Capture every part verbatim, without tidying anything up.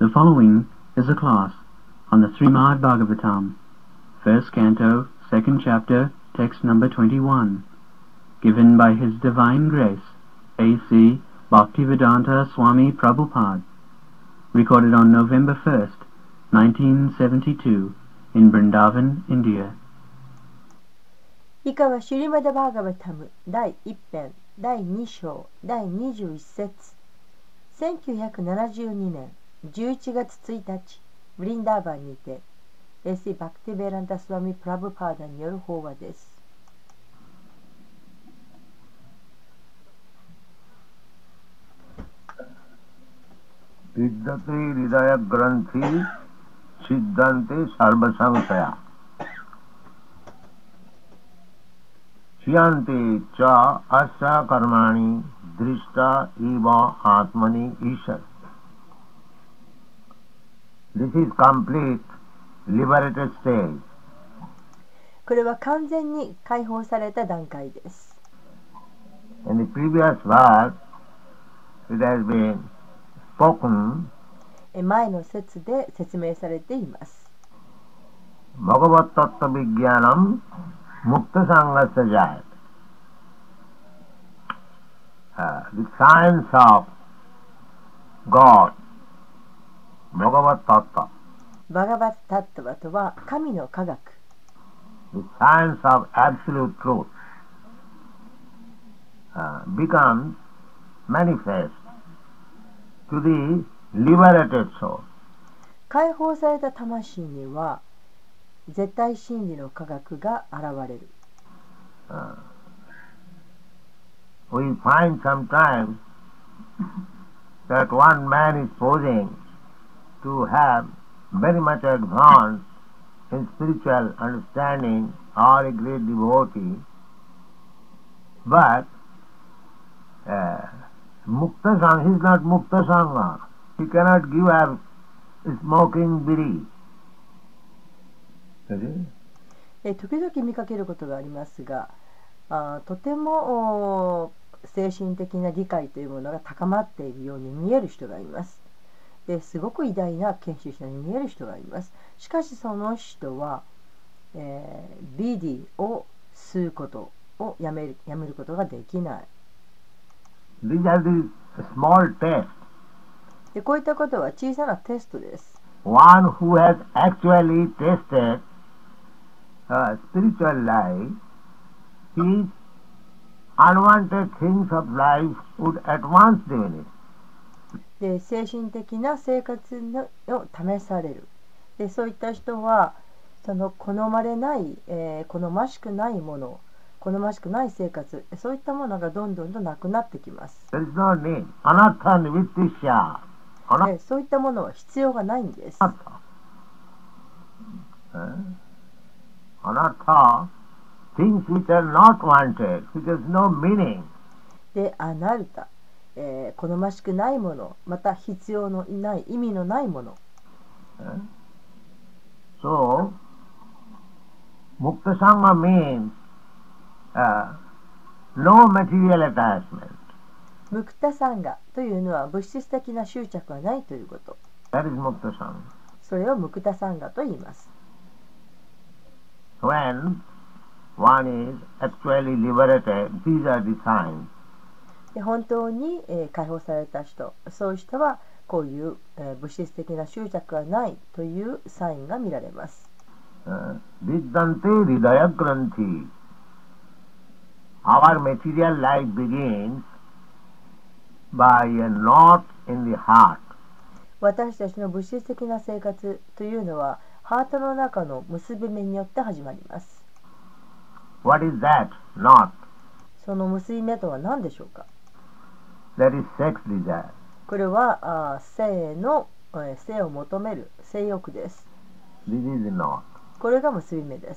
The following is a class on the Srimad Bhagavatam, first canto, second chapter, text number twenty-one, given by His Divine Grace, A C Bhaktivedanta Swami Prabhupada, recorded on November first, nineteen seventy-two, in Vrindavan, India. 以下はシュリマダ・バーガバタム第一編第二章第二十一節せんきゅうひゃくななじゅうにねんじゅういちがつついたちブリンダーバンにてエーシーバクティベランタスワミプラブパーダによる法話です。 विद्यते हृदय ग्रंथि सिद्धांते सर्वसंशया क्षीयन्ते च अस्य कर्माणि दृष्टा इव आत्मनि ईश्वर. This is complete liberated stage. これは完全に解放された段階です。 In the previous verse, it has been spoken. 前の説で説明されています。 Bhagavat Tattva Vijnanam Mukta Sangasya Jayat. Uh, the science of God, Bhagavat Tattva. バガバッタッタバとは神の科学。 The science of absolute truth uh, becomes manifest to the liberated soul. 解放された魂には絶対真理の科学が現れる。 Uh, we find sometimes that one man is posing to have very much advanced in spiritual understanding or a great devotee, but uh, Mukta Sangha, he is not Mukta Sangha. He cannot give a smoking bidi. え時々見かけることがありますが、あとても精神的な理解というものが高まっているように見える人がいます。ですごく偉大な研修者に見える人がいます。しかしその人は、えー、ビディを吸うことをやめる、やめることができない。 These are the small tests. でこういったことは小さなテストです。 One who has actually tested uh, spiritual life, his unwanted things of life would at once diminish. で精神的な生活のを試される。でそういった人はその好まれない、えー、好ましくないもの、好ましくない生活、そういったものがどんどんとなくなってきます。 There is no need. Anartha nivrittisya. でそういったものは必要がないんです。 Anartha, things which are not wanted, which has no meaning. で、アナルタ、えー、好ましくないもの、また必要のない意味のないもの。 So, Mukta Sangha means uh, no material attachment. ムクタサンガというのは物質的な執着はないということ。 That is Mukta Sangha. それをムクタサンガと言います。 When one is actually liberated, these are the signs. で本当に、えー、解放された人、そういう人はこういう、えー、物質的な執着はないというサインが見られます。 Vidyante hridaya granthi. Our material life begins by a knot in the heart. 私たちの物質的な生活というのはハートの中の結び目によって始まります。 What is that knot? その結び目とは何でしょうか？ That is sex desire. これはあ性の、えー、性を求める性欲です。 This is the knot. これが結び目です。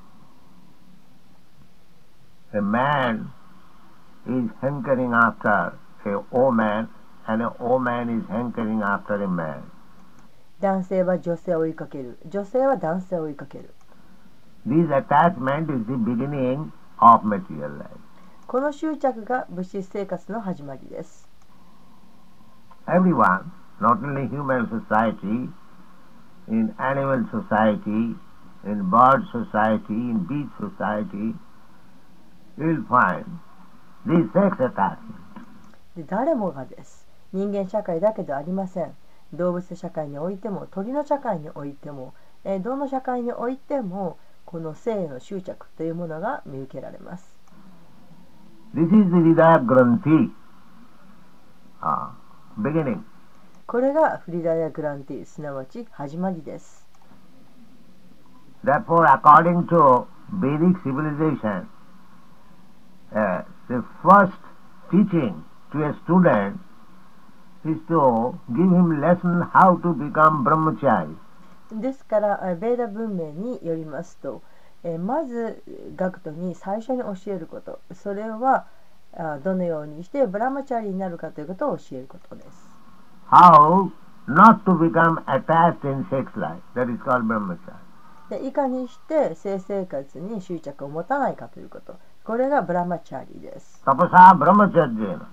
A man is hankering after a woman, and a woman is hankering after a man. 男性は女性を追いかける。女性は男性を追いかける。 This attachment is the beginning of material life. この執着が物質生活の始まりです。 Everyone not only human society, in animal society, in bird society, in beach society, you will find this sex attachment. で誰もがです。人間社会だけではありません。動物社会においても鳥の社会においても、えー、どの社会においてもこの性への執着というものが見受けられます。 This is the Hridaya Granthi, uh, beginning. これがフリダヤグランティ、すなわち始まりです。 Therefore, according to Vedic civilization, uh, the first teaching to a student is to give him lesson how to become brahmachari. ですからベーダ文明によりますと、えー、まず学徒に最初に教えること、それはあどのようにしてブラマチャリになるかということを教えることです。 How not to become attached in sex life, that is called brahmachari. でいかにして性生活に執着を持たないかということ、これがブラマチャリです。 Tapasa brahmacharya.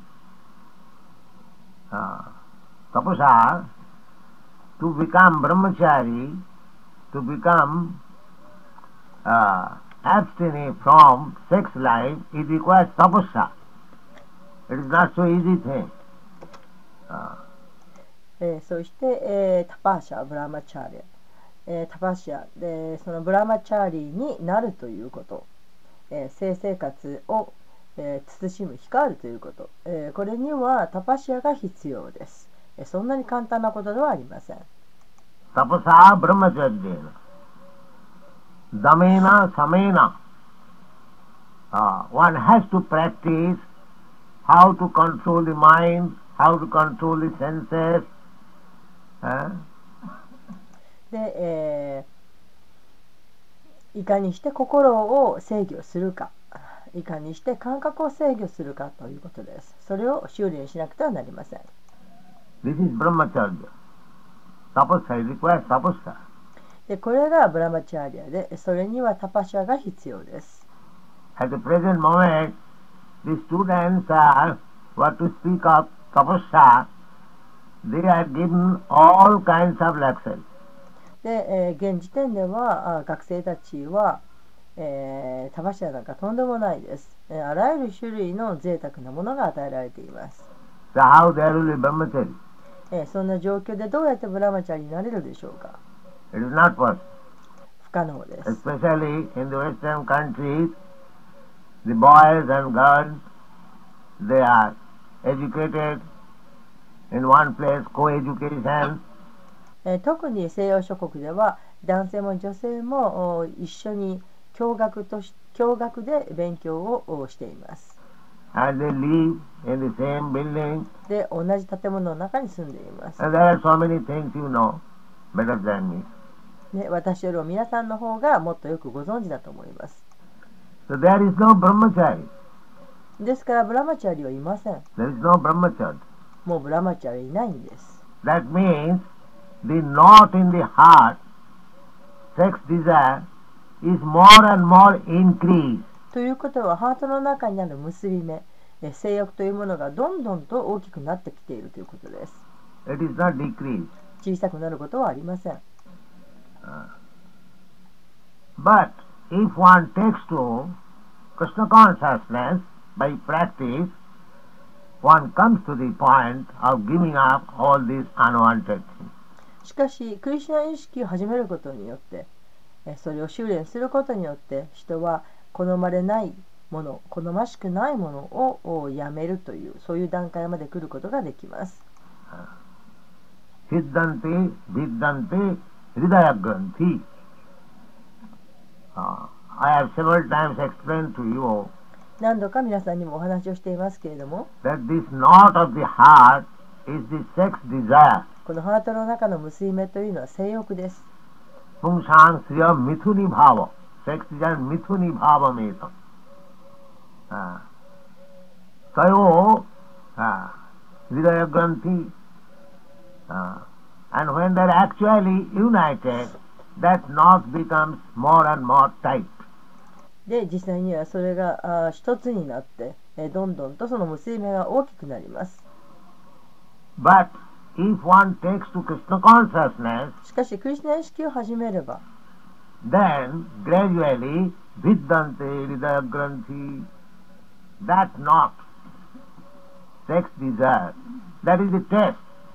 Uh, tapasa, to become brahmachari, to become uh, abstinent from sex life, it requires tapasa. It is not so easy thing. Uh, えー、そして、えー、タパーシャ、ブラマチャーリ、えー、タパシャでそのブラマチャーリになるということ、えー、性生活をえー、慎む、控えるということ、えー、これにはタパシアが必要です、えー、そんなに簡単なことではありません。 タパサブラマチャリーナダメナサメナ one has to practice how to control the mind, how to control the senses、uh? で、えー、いかにして心を制御するか、いかにして感覚を制御するかということです。それを修練しなくてはなりません。 This is brahmacharya. Tapasya requires tapasya. でこれがブラマチャーリアで、それにはタパシャが必要です。 At the present moment, the students are, what to speak of tapasya, they are given all kinds of lectures. で、えー、現時点ではあ学生たちはえー、タパシャなんかとんでもないです、えー、あらゆる種類の贅沢なものが与えられています。 So how there will be brahmachari? えー、そんな状況でどうやってブラマチャリになれるでしょうか。 It is not possible. 不可能です。 Especially in the Western countries, the boys and girls, they are educated in one place, co-education. えー、特に西洋諸国では男性も女性も一緒に共学とし共学で勉強をしています。 And they live in the same building. で、同じ建物の中に住んでいます。 And there are so many things you know better than me. ね、私よりも皆さんの方がもっとよくご存知だと思います。 So there is no brahmachari. ですからブラマチャリはいません。 There is no brahmachari. もうブラマチャリいないんです。 That means the knot in the heart, sex desire, is more and more increased. ということはハートの中にある結び目、性欲というものがどんどんと大きくなってきているということです。 It is not decreased. 小さくなることはありません。 Uh, but if one takes to Krishna consciousness by practice, one comes to the point of giving up all these unwanted things. しかし、クリシュナ意識を始めることによって、それを修練することによって人は好まれないもの、好ましくないものをやめるという、そういう段階まで来ることができます。 Siddhante, Viddhante, Hridaya Granthi. I have several times explained to you 何度か皆さんにもお話をしていますけれども、 that this knot of the heart is the sex desire. このハートの中の結び目というのは性欲です。 Pungsang Sriya Mithuni Bhava. Sex desire Mithuni Bhava Metam. Tayo Hridaya Granthi. And when they are actually united, that knot becomes more and more tight. で、実際にはそれがあ一つになって、えどんどんとその結び目が大きくなります。 But if one takes to Krishna consciousness, しかしクリシュナ意識を始めれば then gradually Viddante Hridaya Granthi, that knot, sex desire, that is the test.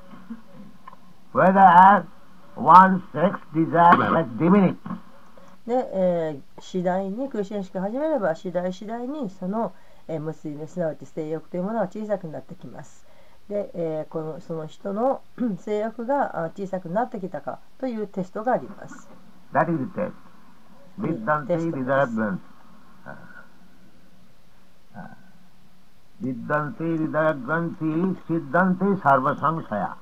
Whether one's sex desire has diminished. で、えー次第にクリシュナ意識を始めれば次第次第にその、えー、結び目すなわち性欲というものは小さくなってきます。で、えーこのその人の性欲があ小さくなってきたかというテストがあります。 That is the test. Viddante Test. Hridaya Granthi. Viddante Hridaya Granthi Siddhante Sarva Samsaya.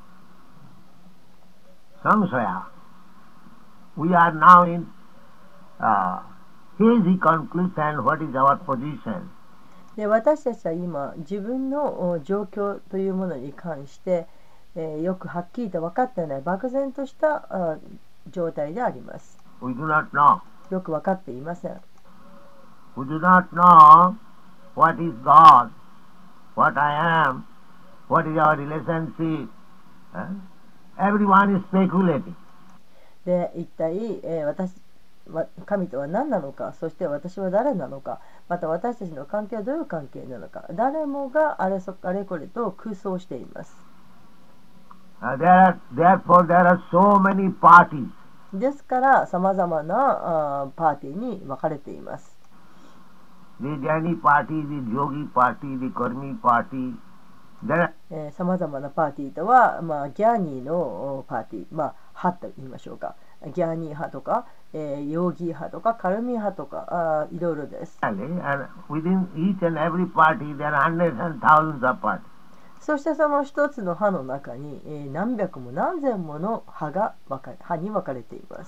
Samsaya. We are now in uh, hazy conclusion. What is our position? で私たちは今自分のお状況というものに関して、えーよくはっきりと分かっていない漠然としたあ状態であります。 We do not know. よく分かっていません。 We do not know what is God, what I am, what is our relationship. Huh? Everyone is speculating. で一体、えー私わ神とは何なのか、そして私は誰なのか、また私たちの関係はどういう関係なのか、誰もがあれそあれこれと空想しています。 Uh, there are, therefore, there are so many parties. ですからさまざまなあパーティーに分かれています。 The Jnani party, the Yogi party, the Karmi party. There are さまざまなパーティーとは、まあ、ギャーニーのおパーティー、まあ、派と言いましょうか。ギャーニー派とか、えー、ヨーギー派とか、カルミー派とか、あいろいろです。 and within each and every party, there are hundreds and thousands of parties. そしてその一つの派の中に、えー何百も何千もの派が分か派に分かれています。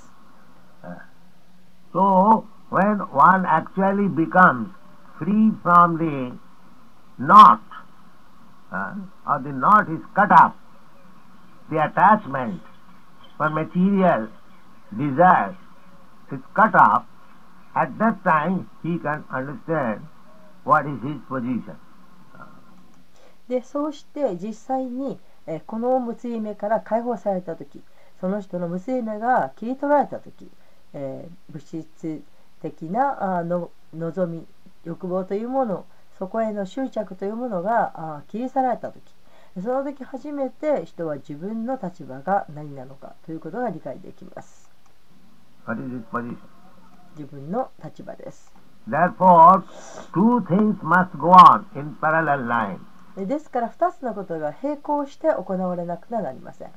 So, when one actually becomes free from the knot, uh, or the knot is cut off, the attachment for material desire is cut off, at that time he can understand what is his position. でそうして実際に、えーこの結び目から解放された時、その人の結び目が切り取られた時、えー物質的なあの望み欲望というもの、そこへの執着というものがあ切り去られた時、その時初めて人は自分の立場が何なのかということが理解できます。 What is his position? 自分の立場です。 Therefore, two things must go on in parallel line. でですからふたつのことが並行して行われなくてはなりません。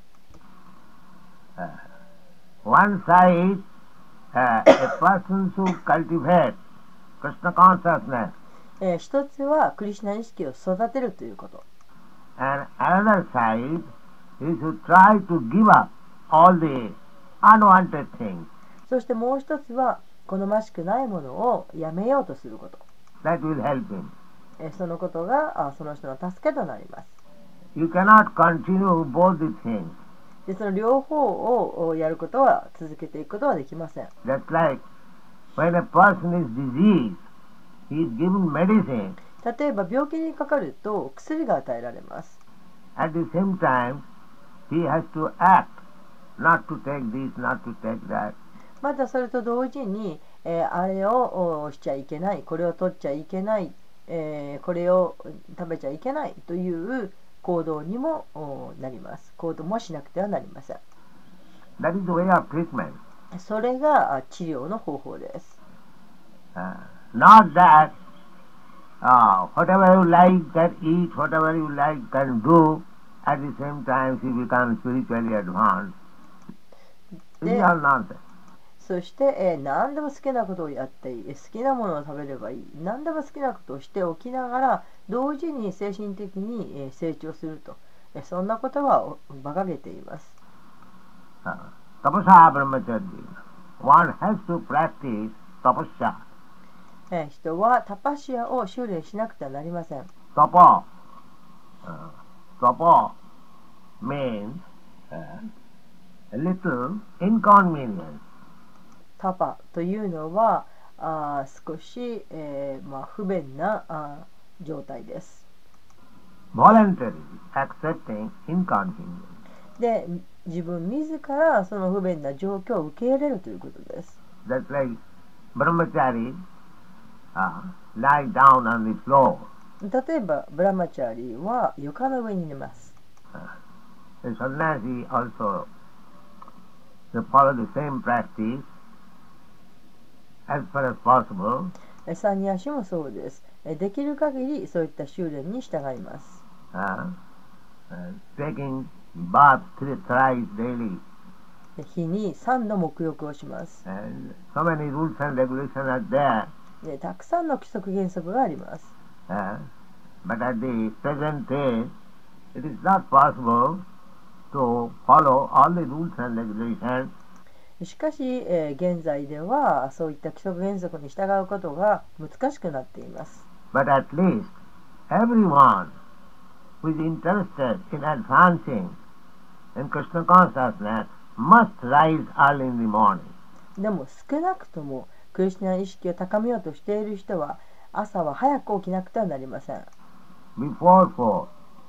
Uh, one side, uh, a person should cultivate Krishna consciousness, えー一つはクリシュナ意識を育てるということ。 and another side, he should try to give up all the unwanted things. そしてもう一つは好ましくないものをやめようとすること。 That will help him. えーそのことがあその人の助けとなります。 You cannot continue both the things. でその両方をおやることは続けていくことはできません。 Just like when a person is diseased, he is given medicine. 例えば病気にかかると薬が与えられます。 At the same time, he has to act, not to take this, not to take that. またそれと同時に、えーあれをおしちゃいけない、これを取っちゃいけない、えーこれを食べちゃいけないという行動にもおなります。行動もしなくてはなりません。 That is the way of treatment. それがあ治療の方法です。 Uh, not that uh, whatever you like can eat, whatever you like can do, at the same time you become spiritually advanced. These They- are nonsense. そして、えー何でも好きなことをやっていい、好きなものを食べればいい、何でも好きなことをしておきながら同時に精神的に、えー成長すると、えーそんなことはお馬鹿げています。 Uh, tapasya brahmacharya. One has to practice tapasya. えー人はタパシアを修練しなくてはなりません。 Tapa. Uh, tapa means uh, a little inconvenience. タパというのはあー少し、えーまあ、不便なあー状態です。 voluntarily accepting inconvenience. で自分自らその不便な状況を受け入れるということです。 That's like brahmachari uh, lie down on the floor. 例えばブラマチャーリーは床の上に寝ます。 The sannyasi also they follow the same practice as far as possible. サニヤシもそうです。できる限りそういった修練に従います。 Uh, uh, taking bath three, thrice daily. 日にさんど沐浴をします。 And so many rules and regulations are there. でたくさんの規則原則があります。 Uh, but at the present day, it is not possible to follow all the rules and regulations. しかし、えー現在ではそういった規則原則に従うことが難しくなっています。 But at least everyone who is interested in advancing in Krishna consciousness must rise early in the morning. でも少なくともクリシュナ意識を高めようとしている人は朝は早く起きなくてはなりません。 Before four,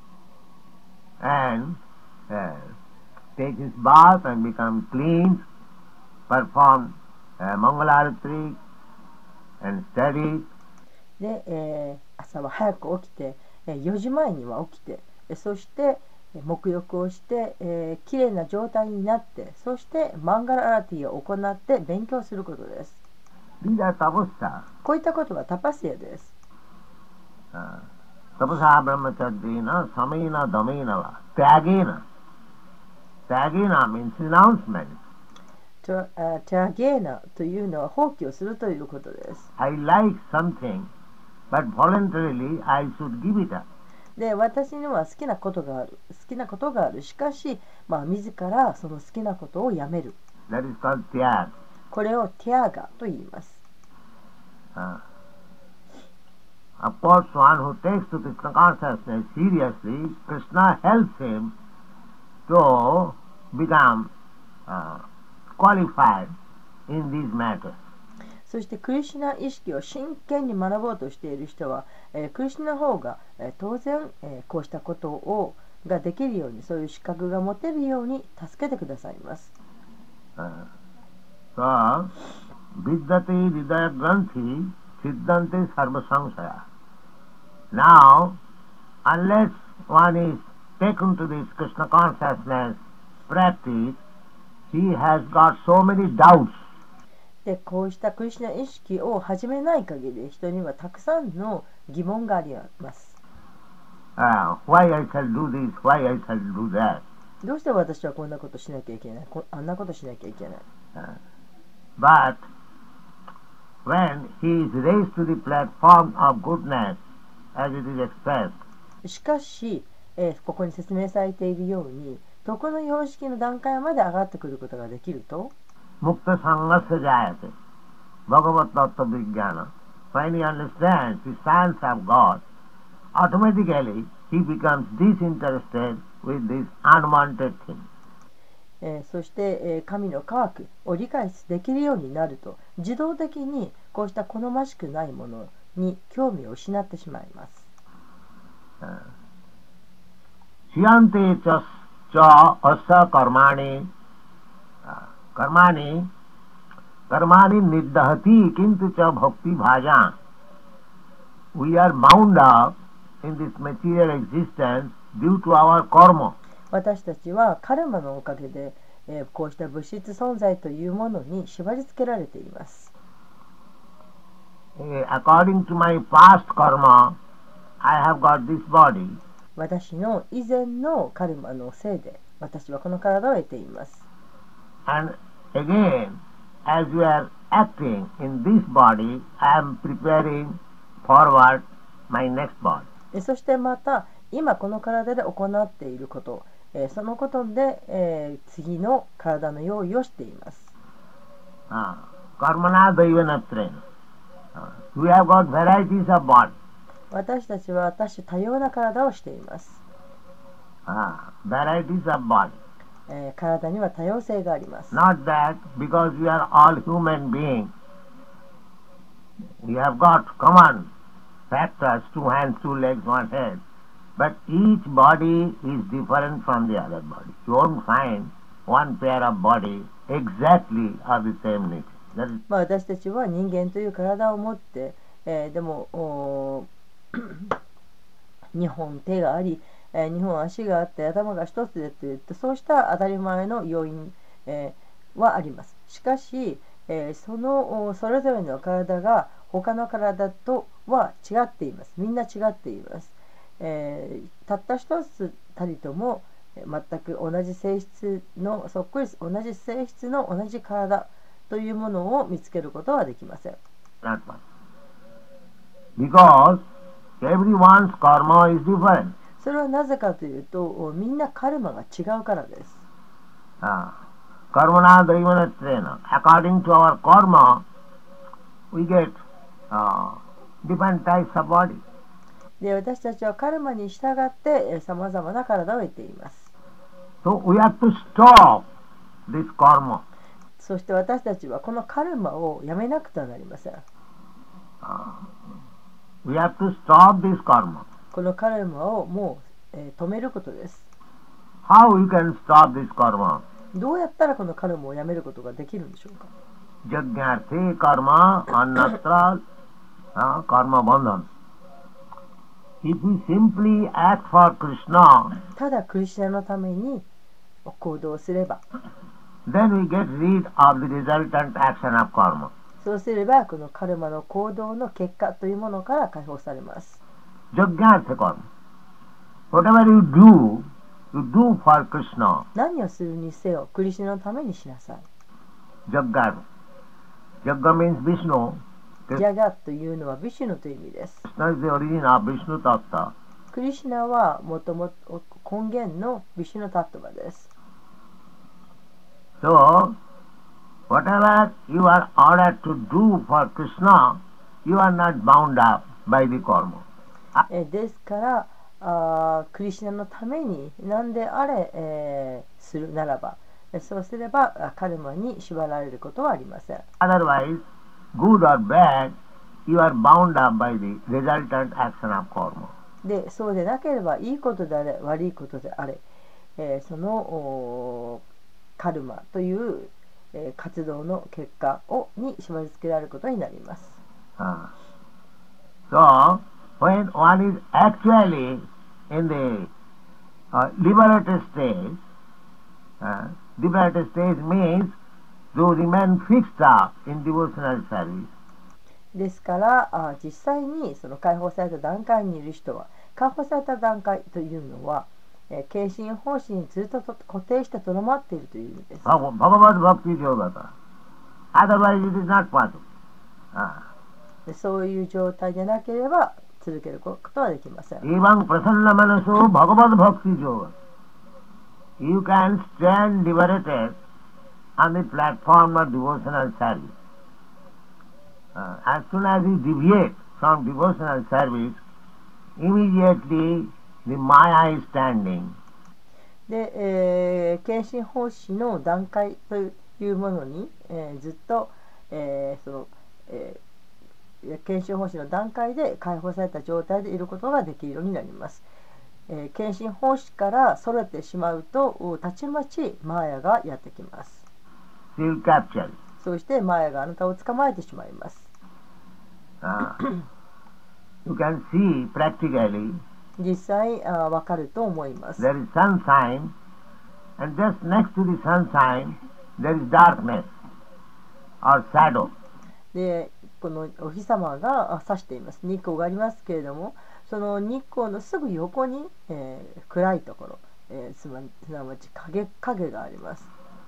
and uh, take his bath and become clean, perform uh, Mangalarati and study. で、えー朝は早く起きて、えーよじまえには起きて、えーそしてえー沐浴をして、えー、きれいな状態になって、そしてマンガラアラティを行って勉強することです。 These are tapasya. こういったことはタパスヤです。 Uh, tapasa brahmacharjina samena damena va tyagena. Tyagena means renouncement. トラあテャゲーナというのは放棄をするということです。 I like something, but voluntarily I should give it up. で、私には好きなことがある。好きなことがある。しかし、まあ、自らその好きなことをやめる。 That is called tyag. これをティアガと言います。 Uh, of course, one who takes to Krishna consciousness seriously, Krishna helps him to become uh, qualified in these matters. そしてクリシュナ意識を真剣に学ぼうとしている人は、えークリシュナの方が、えー当然、えーこうしたことをができるように、そういう資格が持てるように助けてくださいます。 Uh, so, vidyate hridaya granthi siddhante sarva samsaya. Now, unless one is taken to this Krishna consciousness practice, he has got so many doubts. で、こうしたクリシュナ意識を始めない限り、人にはたくさんの疑問があります。 Uh, why I shall do this, why I shall do that. どうして私はこんなことしなきゃいけない、こあんなことしなきゃいけない。 Uh, but when he is raised to the platform of goodness, as it is expressed, しかし、えーここに説明されているように、徳の様式の段階まで上がってくることができると、 mukta sangasya jayate, bhagavat tattva vijnana. When he understands the science of God, automatically he becomes disinterested with this unwanted thing. えーそして、えー神の科学を理解できるようになると、自動的にこうした好ましくないものに興味を失ってしまいます。 Shiyante cha cha asa karmani uh, karmani karmani niddhati kintu cha bhakti bhaja. We are bound up in this material existence due to our karma. 私たちはカルマのおかげで、えーこうした物質存在というものに縛り付けられています。 Uh, According to my past karma, I have got this body. 私の以前のカルマのせいで私はこの体を得ています。 And again, as we are acting in this body, I am preparing forward my next body. えそしてまた今この体で行っていること、えーそのことで、えー次の体の用意をしています。 Uh, Karmana daivanatra. Uh, we have got varieties of body. 私たちは多種多様な体をしています。 Uh, varieties of body. えー体には多様性があります。 Not that because we are all human beings, we have got common factors, two hands, two legs, one head. But each body is different from the other body. You won't find one pair of body exactly of the same nature. That is まあ、私たちは人間という体を持って、えーでもおにほん手があり、えー、にほん足があって頭が一つでといったそうした当たり前の要因、えーはあります。しかし、えーそのおそれぞれの体が他の体とは違っています。みんな違っています。えーたった一つたりともえー全く同じ性質のそっくり同じ性質の同じ体というものを見つけることはできません。 not one. Because everyone's karma is different. それはなぜかというとおみんなカルマが違うからです。 Ah. Karmana daivanatena. According to our karma, we get uh, different types of body. で私たちはカルマに従ってさまざまな体を得ています。 So we have to stop this karma. そして私たちはこのカルマをやめなくてはなりません。 We have to stop this karma. このカルマをもう、えー止めることです。 How we can stop this karma? どうやったらこのカルマをやめることができるんでしょうか。 Jagyarthe karma annatra uh, karma bandhan. If we simply act for Krishna, ただクリスチャンのために行動すれば、 then we get rid of the resultant action of karma. そうすればこのカルマの行動の結果というものから解放されます。 Jagyarthe karma. Whatever you do, you do for Krishna. 何をするにせよクリスチャンのためにしなさい。 Jagga. Jagga means Vishnu. ジャガというのはビシュヌという意味です。 Krishna is the origin of Vishnu Tattva. クリシュナはもともと根源のビシュヌタットバです。 So, whatever you are ordered to do for Krishna, you are not bound up by the karma. えですからあクリシュナのために何であれ、えーするならばそうすればあカルマに縛られることはありません。 Otherwise, good or bad, you are bound up by the resultant action of karma. でそうでなければいいことであれ悪いことであれ、えーそのおカルマという、えー活動の結果をに縛り付けられることになります。 Ah. So, when one is actually in the uh, liberated stage, uh, liberated stage means to remain fixed up in devotional service. ですからあ実際にその解放された段階にいる人は解放された段階というのは、えー、献身方針にずっとと固定してとどまっているという意味です。 Bhagavad Bhakti Yogata. Otherwise it is not possible. Ah. でそういう状態でなければ続けることはできません。 Evam prasanna manaso Bhagavad Bhakti Yoga. You can stand liberated on the platform of devotional service. Uh, as soon as you deviate from devotional service, immediately the Maya is standing. で、えー、献身奉仕の段階というものに、えーずっと、えーそのえー、献身奉仕の段階で解放された状態でいることができるようになります。えー、献身奉仕からそれてしまうとたちまちマーヤがやってきます。 She will capture you. そしてマーヤがあなたを捕まえてしまいます。 Uh, you can see practically 実際あわかると思います。 there is sunshine, and just next to the sunshine there is darkness or shadow. でこのお日様が差しています。日光がありますけれどもその日光のすぐ横に、えー暗いところ、えーすなすなわち影影があります。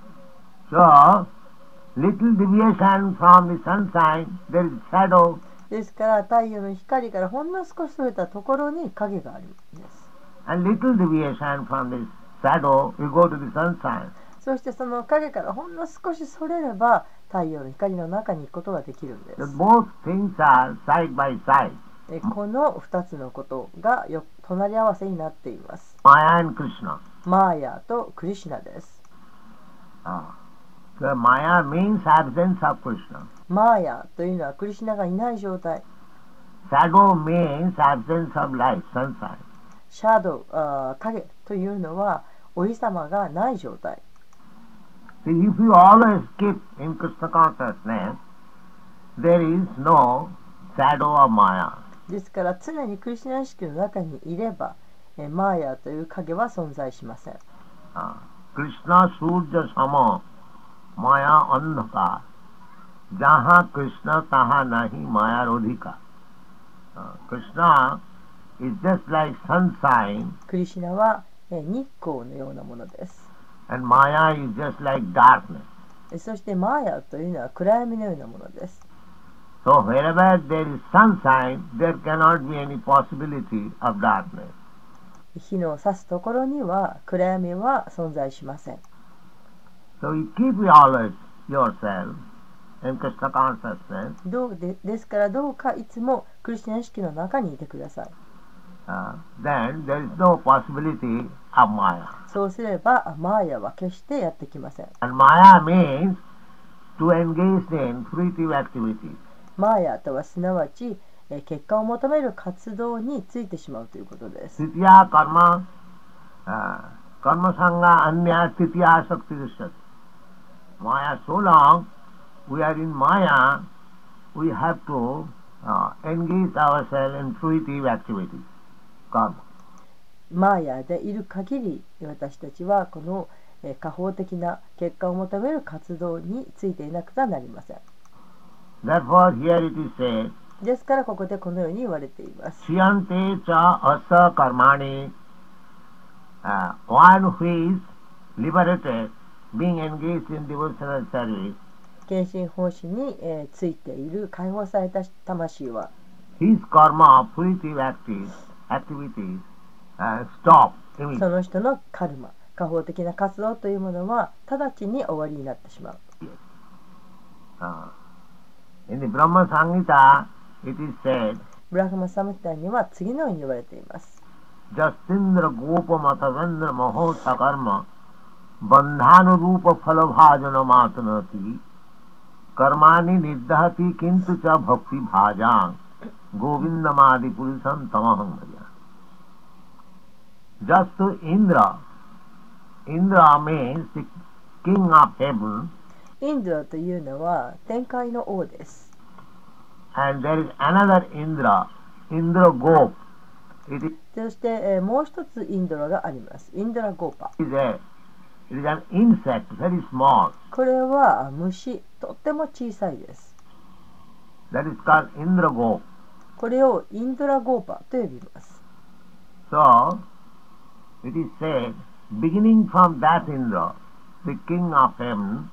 So, little deviation from the sunshine, there is shadow. ですから太陽の光からほんの少しそれたところに影があるんです。 And little deviation from this shadow, you go to the sunshine. そしてその影からほんの少しそれれば太陽の光の中に行くことができるんで So す。 both things are side by side. えこのふたつのことがよ隣り合わせになっています。 Maya and Krishna. マーヤとクリシュナです。 Ah. So Maya means absence of Krishna. マーヤというのはクリシュナがいない状態。 Shadow means absence of light, sunshine. シャドウ、あ影というのはお日様がない状態。 See, if you always keep in Krishna consciousness, there is no shadow of Maya. ですから常にクリシュナ意識の中にいれば、えマーヤという影は存在しません。 Uh, Krishna Surya Sama Maya Andhaka Jaha Krishna Taha Nahi Maya Rodhika. Uh, Krishna is just like sunshine クリシュナは、え日光のようなものです。 and Maya is just like darkness. えそしてマーヤというのは暗闇のようなものです。 So wherever there is sunshine, there cannot be any possibility of darkness. 日の差すところには暗闇は存在しません。 So you keep always yourself in Krishna consciousness. どうでですからどうかいつもクリシュナ意識の中にいてください。 Uh, then there is no possibility of Maya. そうすればマーヤは決してやってきません。 And Maya means to engage in fruitive activities. マーヤとはすなわちえ結果を求める活動についてしまうということです。 Titya karma, uh, karma sangha anya titya shakti drishyate. Maya, so long we are in Maya, we have to uh, engage ourselves in fruitive activities. Karma. マーヤでいる限り私たちはこのえ過方的な結果を求める活動についていなくてはなりません。 Therefore here it is said, ですからここでこのように言われています。 Shiyante cha asa karmani, uh, one who is liberated, being engaged in devotional service, 献身奉仕に、えーついている解放された魂は his karma, fruitive active, activities, uh, stop そ immediately. の人のカルマ、過方的な活動というものは直ちに終わりになってしまう。 Uh, in the Brahma Samhita, it is said, ブラフマサムヒタには次のように言われています。 Jasindra Gopa Matavendra Maho Sakarma Bandhanu Rupa Phalabhajana Matanati Karmani Niddhati Kintu Cha Bhakti Bhajang Govindamadi Purusham Tamaham Bhaja. Just to Indra, Indra means the king of heaven, インドラというのは天界の王です。 and there is another Indra, Indra Gop. It is そして、えーもう一つインドラがあります。インドラゴーパ。 a, it is an insect, very small. これは虫、とっても小さいです。 That is called Indra Gop. これをインドラゴーパと呼びます。 So, it is said, beginning from that Indra, the king of heaven,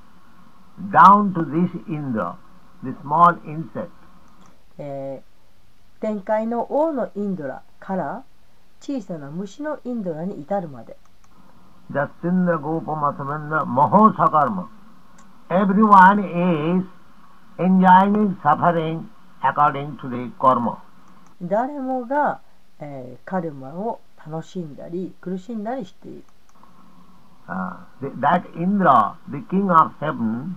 down to this Indra, the small insect, えー天界の王のインドラから小さな虫のインドラに至るまで Jasindra Gopa Mathavendra Maho Sakarma. Everyone is enjoying suffering according to the karma. 誰もが、えーカルマを楽しんだり苦しんだりしている。 Uh, the, that Indra, the king of heaven,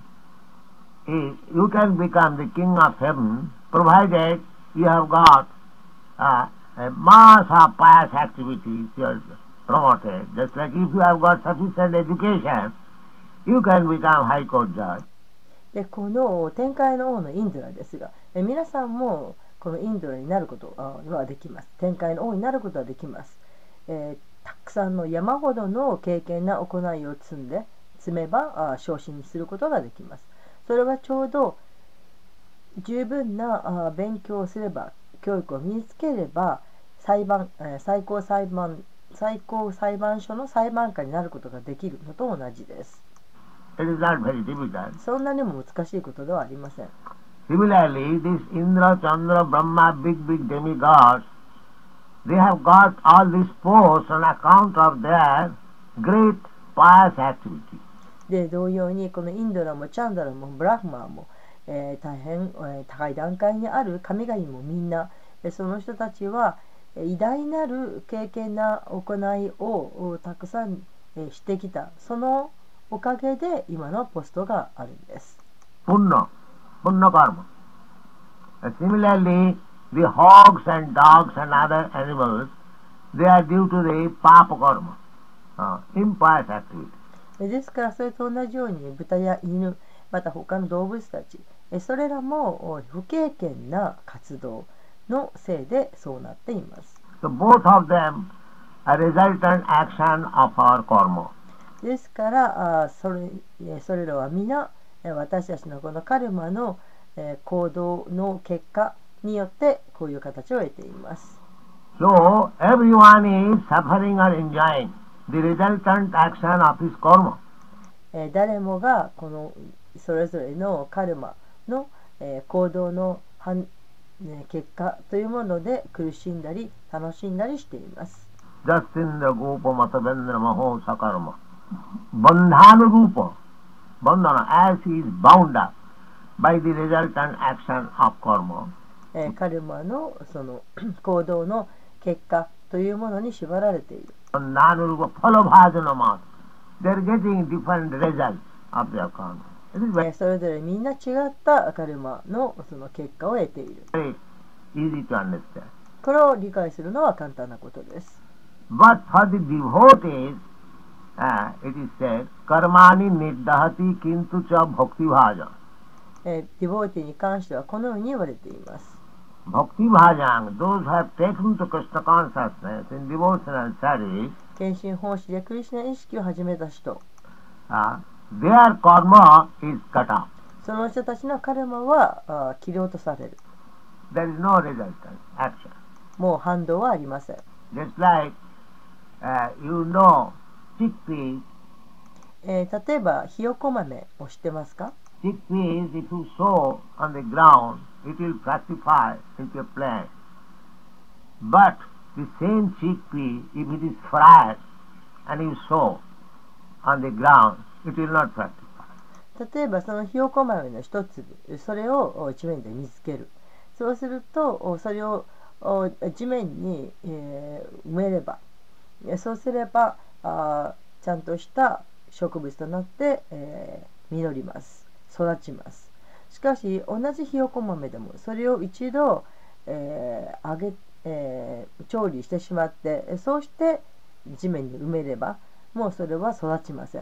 is, you can become the king of heaven provided you have got uh, a mass of pious activities you are promoted. Just like if you have got sufficient education, you can become high court judge. でこの天界の王のインドラですが、え皆さんもこのインドラになることはできます。天界の王になることはできます。えーたくさんの山ほどの経験な行いを積んで積めばあ昇進することができます。それはちょうど十分なあ勉強をすれば教育を身につければ裁判、えー最高裁判最高裁判所の裁判官になることができるのと同じです。 It is not very difficult. そんなにも難しいことではありません。 Similarly, this Indra, Chandra, Brahma, big, big demigods, they have got all these posts on account of their great pious activity. で同様にこのインドラもチャンダラもブラフマーも、えー大変、えー高い段階にある神々もみんな、えーその人たちはえー偉大なる経験な行いをおたくさん、えーしてきた。そのおかげで今のポストがあるんです。 Punna, Punna karma. And similarly, the hogs and dogs and other animals, they are due to the papa karma, uh, impious activity. ですからそれと同じように豚や犬また他の動物たちそれらも不経験な活動のせいでそうなっています。 So both of them are resultant action of our karma. ですからあそれそれらは皆私たちのこのカルマの行動の結果によってこういう形を得ています。 So everyone is suffering or enjoying the resultant action of his karma. 誰もがこのそれぞれのカルマの行動の結果というもので苦しんだり楽しんだりしています。 Jasindra Gopa Matavendra Maho Sakarma Bandhana Rupa Bandhana as he is bound up by the resultant action of karma. カルマのその行動の結果というものに縛られている。 Bandhana Rupa Phalabhajana Mat. They are getting different results of their karma. それぞれみんな違ったカルマのその結果を得ている。 Very easy to understand. これを理解するのは簡単なことです。 But for the devotees, uh, it is said, karmani niddahati kintu cha bhakti bhaja. ディボーティに関してはこのように言われています。 Bhakti bhajang, those who have taken to Krishna consciousness in devotional service, 献身奉仕でクリシュナ意識を始めた人、 uh, their karma is cut off. その人たちのカルマはあ切り落とされる。 There is no resultant action. もう反動はありません。 Just like uh, you know chickpeas. えー、例えばひよこ豆を知ってますか？ Chickpeas, if you sow on the ground, it will fructify into a plant. But the same chickpea, if it is fried and you sow on the ground, it will not fructify. 例えばそのひよこ豆の一粒、それを地面で見つける。そうするとそれを地面に、えー、埋めれば、そうすればあちゃんとした植物となって、えー、実ります。育ちます。しかし同じひよこ豆でもそれを一度、えー揚げえー、調理してしまってそうして地面に埋めればもうそれは育ちません。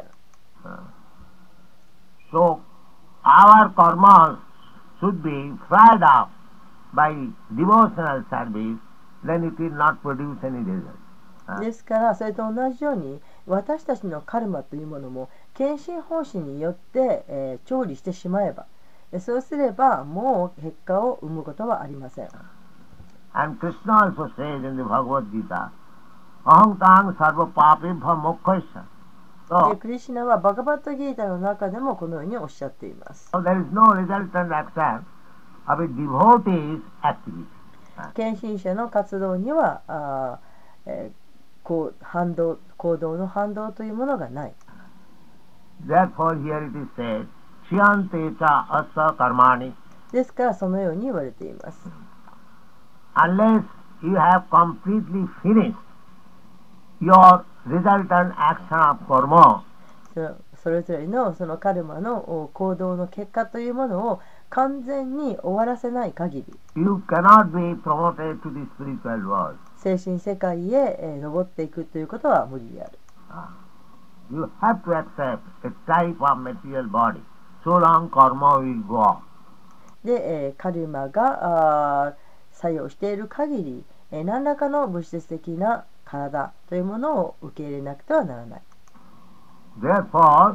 So our karma should be fried up by devotional service, then it will not produce any result. ですからそれと同じように私たちのカルマというものも献身奉仕によって、えー、調理してしまえばそうすればもう結果を生むことはありません。 And Krishna also says in the Bhagavad Gita, Aham tang sarva papebha mokkhaisya. でクリシュナはバガバットギータの中でもこのようにおっしゃっています。 So there is no resultant action of a devotee's activity. 献身者の活動にはあ、えー、こう反動行動の反動というものがない。 Therefore here it is said, Shiyante cha asa karmani. ですからそのように言われています。 Unless you have completely finished your resultant action of karma, それぞれのそのカルマの行動の結果というものを完全に終わらせない限り you cannot be promoted to the spiritual world. 精神世界へ登っていくということは無理である。 You have to accept a type of material body. So long karma will go on. で、カルマが作用している限り何らかの物質的な体というものを受け入れなくてはならない。 Therefore,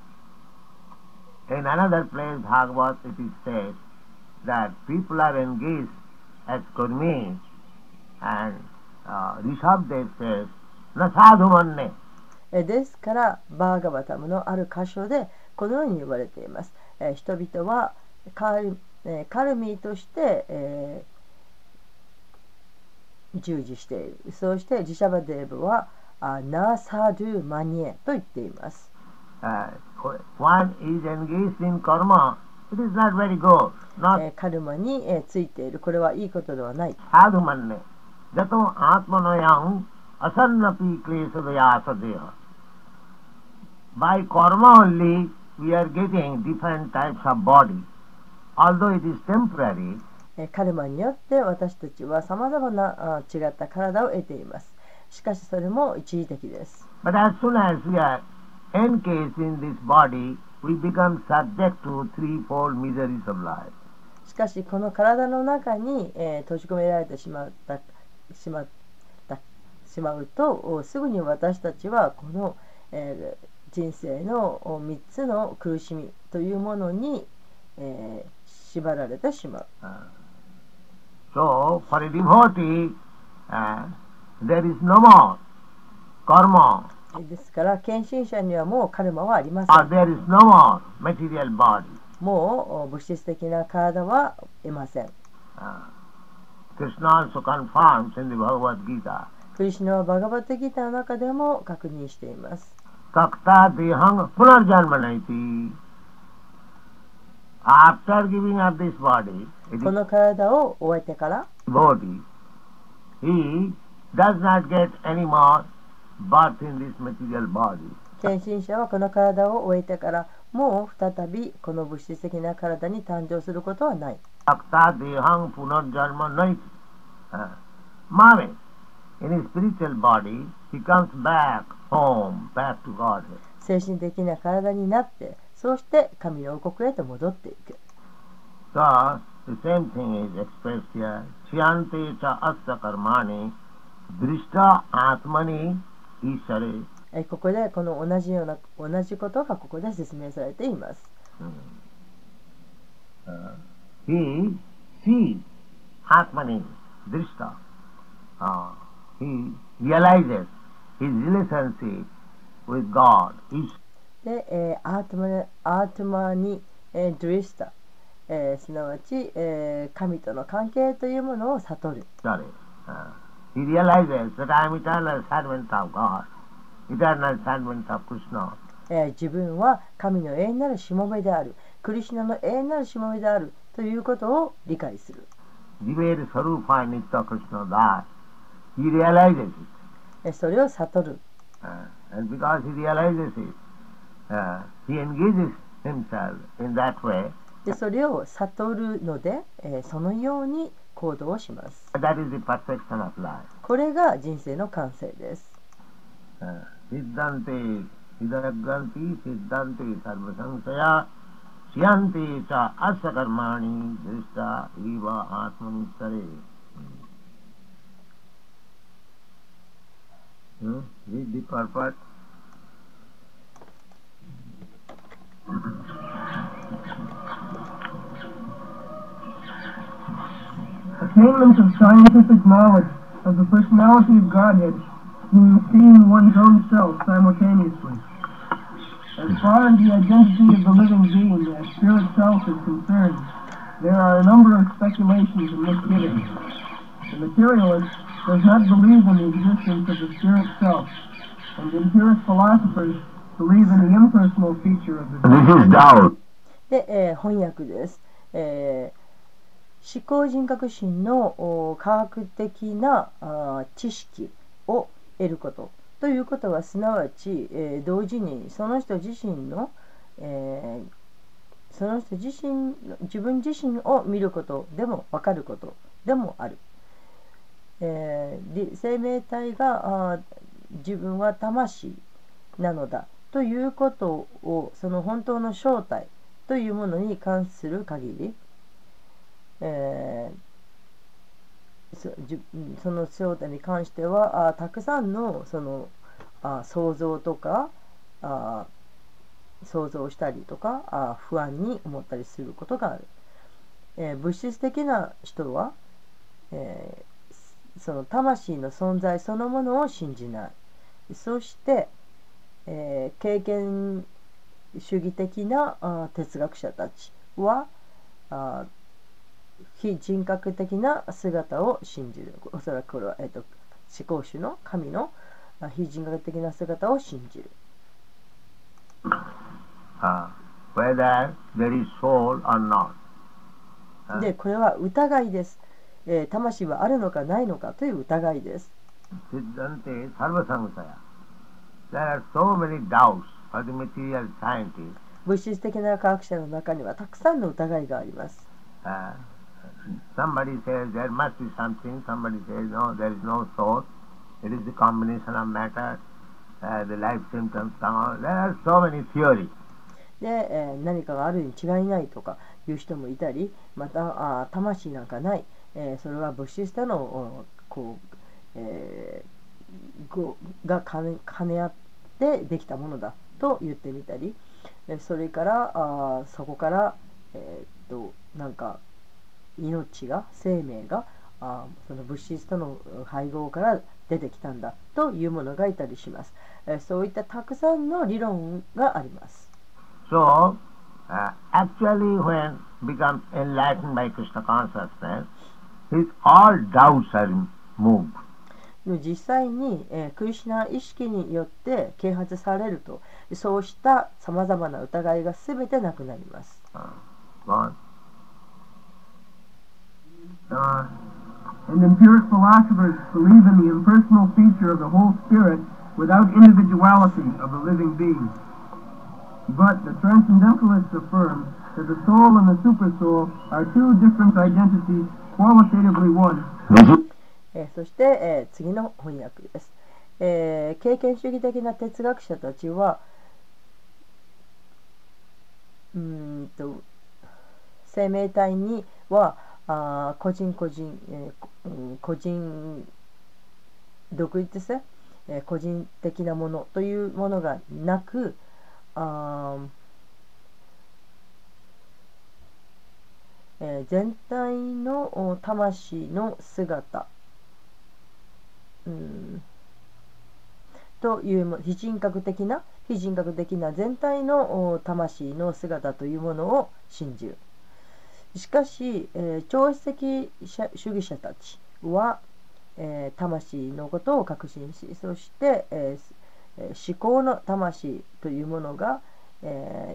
in another place, Bhagavad, it is said that people are engaged as kurmis and uh, Rishabdev says, na sadhu manne. ですから、バーガバタムのある箇所でこのように言われています。えー、人々はカル、えー、カルミーとして、えー、従事している。そしてジシャバデーブはナサドゥマニエと言っています。 Uh, one is engaged in karma, it is not very good. Not えー、カルマに、えー、ついている。これはいいことではない。 sadhu manne. Jato atmanayam asannapi klesadayasadeha. By karma only we are getting different types of body. Although it is temporary, カルマによって私たちはさまざまな違った体を得ています。 しかしそれも一時的です。 But as soon as we are encased in this body, we become subject to threefold miseries of life. しかしこの体の中に、えー、閉じ込められてしまったしまったしまうとすぐに私たちはこの、えー、人生のみっつの苦しみというものに、えー、縛られてしまう。 Uh, so, for a devotee, uh, there is no more karma. ですから献身者にはもうカルマはありません。 Or there is no more material body. もう物質的な体は得ません。 Uh, Krishna also confirms in the Bhagavad Gita. クリシュナはバガバットギターの中でも確認しています。 Takta dehang punarjanmanaiti. After giving up this body, この体を終えてから、 body, he does not get any more birth in this material body. 献身者はこの体を終えてからもう再びこの物質的な体に誕生することはない。 Takta dehang punarjanmanaiti. Mame, in his spiritual body, he comes back home, back to Godhead. 精神的な体になって、そうして神の王国へと戻っていく。 So, the same thing is expressed here. Chiyante cha asya karmani drishta atmani ishare. ここでこの同じような同じことがここで説明されています。 Uh, he sees atmani drishta. Uh, he realizes his relationship with God. He で、えー、アートマアートマに、えー、ドリスタ、えー、すなわち、えー、神との関係というものを悟る。 sorry, uh, he realizes that I am eternal servant of God, eternal servant of Krishna. えー、自分は神の永遠なるしもべである、クリシュナの永遠なるしもべであるということを理解する。 Jiver Sarupa Nitya Krishna Das. He realizes it. えー、それを悟る。 Uh, and because he realizes it, uh, he engages himself in that way. でそれを悟るので、えー、そのように行動をします。 That is the perfection of life. これが人生の完成です。 Siddhante Siddhagganti Siddhante Sarvasansaya Siyante cha Asya Karmani Drishta Iva Atmani Sare. Hmm? Read the purport. Attainment of scientific knowledge of the personality of Godhead means seeing one's own self simultaneously. As far as the identity of the living being as spirit self is concerned, there are a number of speculations and misgivings. The materialist does not believe in the existence of the spirit self, and empiric philosophers believe in the impersonal feature of the This is doubt. で、えー、翻訳です。えー思考人格心の科学的なあ知識を得ることということはすなわち、えー、同時にその人自身の、えー、その人自身自分自身を見ることでも分かることでもある、えー、生命体があ自分は魂なのだということをその本当の正体というものに関する限りえー、そ, その正体に関してはあたくさんのそのあ想像とかあ想像したりとかあ不安に思ったりすることがある、えー、物質的な人は、えー、その魂の存在そのものを信じない。そして、えー、経験主義的なあ哲学者たちはあ非人格的な姿を信じる。おそらくこれは、えー、と思考主の神の非人格的な姿を信じる。 Uh, whether there is soul or not. Uh, で、これは疑いです、えー。魂はあるのかないのかという疑いです。 Siddhante Sarvasangsaya. There are so many doubts for the material scientists. 物質的な科学者の中にはたくさんの疑いがあります。 Uh, somebody says there must be something, somebody says no, there is no soul. it is the combination of matter, uh, the life symptoms come out. There are so many theories. で、えー何かがあるに違いないとかいう人もいたり、またあ魂なんかない、えーそれは物質とのおこう、えーごが兼ね兼ね合ってできたものだと言ってみたり、えそれからあそこから、えーっとなんか命が生命があその物質との配合から出てきたんだというものがいたりします。えーそういったたくさんの理論があります。 So, uh, actually when becomes enlightened by Krishna consciousness, his all doubts are removed. 実際に、えークリシュナ意識によって啓発されると、そうしたさまざまな疑いがすべてなくなります。 Uh, gone. Uh, and empiric philosophers believe in the impersonal feature of the whole spirit without individuality of the living being. But the transcendentalists affirm that the soul and the supersoul are two different identities, qualitatively one. えーそして、えー次の翻訳です、えー経験主義的な哲学者たちはうーんと生命体にはあ個人個人、えーうん個人独立性、えー個人的なものというものがなく、あえー全体のお魂の姿、うんというも非人格的な非人格的な全体のお魂の姿というものを信じる。しかし、えー超越的主義者たちは、えー魂のことを確信し、そして、えーえー思考の魂というものが、え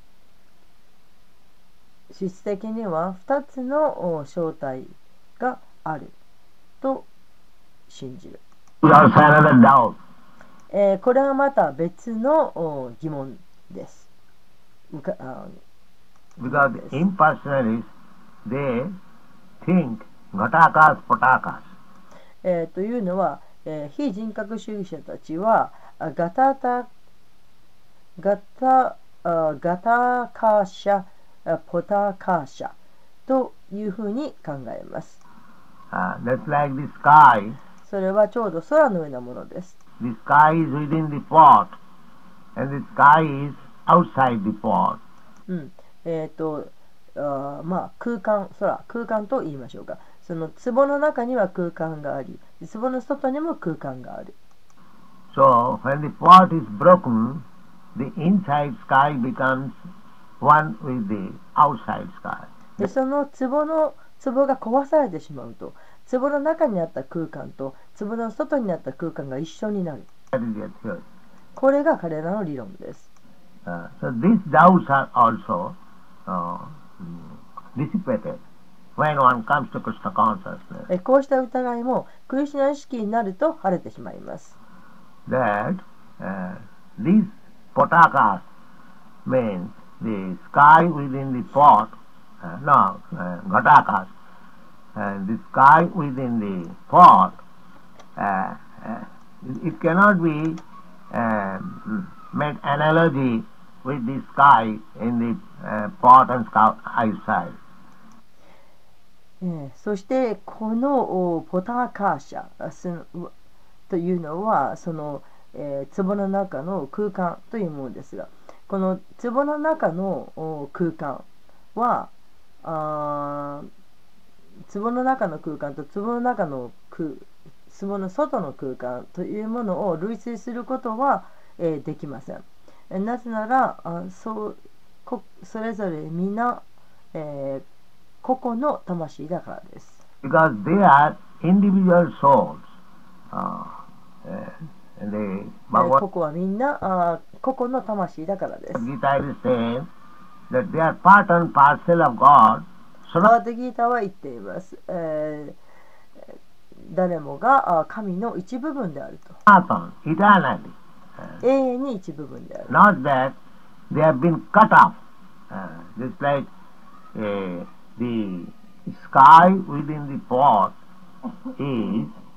ー質的にはふたつのお正体があると信じる。 Also another doubt. えーこれはまた別のお疑問です。うかあ Because the impersonalists, they think Ghatakas, Patakas. えーというのは、えー非人格主義者たちはあガタタガタあガタカーシャあポタカーシャというふうに考えます。 Uh, that's like the sky. それはちょうど空のようなものです。 The sky is within the pot, and the sky is outside the pot. うんえーとあまあ空間空空間と言いましょうか。その壺の中には空間があり、壺の外にも空間がある。 So, when the pot is broken, the inside sky becomes one with the outside sky. でその壺の壺が壊されてしまうと、壺の中にあった空間と壺の外にあった空間が一緒になる。 That is their theory. これが彼らの理論です。 Uh, so these doubts are also uh, mm, dissipated when one comes to Krishna consciousness. えこうした疑いもクリシュナ意識になると晴れてしまいます。 That uh, these potakas means the sky within the pot, uh, no, uh, ghatakas, and the sky within the pot, uh, uh, it cannot be uh, made analogy with the sky in the uh, pot and sky outside. えーそしてこのおポターカーシャあすというのはその、えー壺の中の空間というものですが、この壺の中のお空間はあー壺の中の空間と壺の中の空壺の外の空間というものを類推することは、えーできません。えーなぜならあそうこそれぞれ皆、えー個々の魂だからです。 Because they are individual souls. Uh, uh, and the えー Bhagavad 個々はみんなあ個々の魂だからです。 Gita is saying that they are part and parcel of God. バートギーターは言っています。えー誰もがあ神の一部分であると。 Sanatan, eternally. Uh, 永遠に一部分である。 not that they have been cut off. Uh, just like uh, the sky within the pot is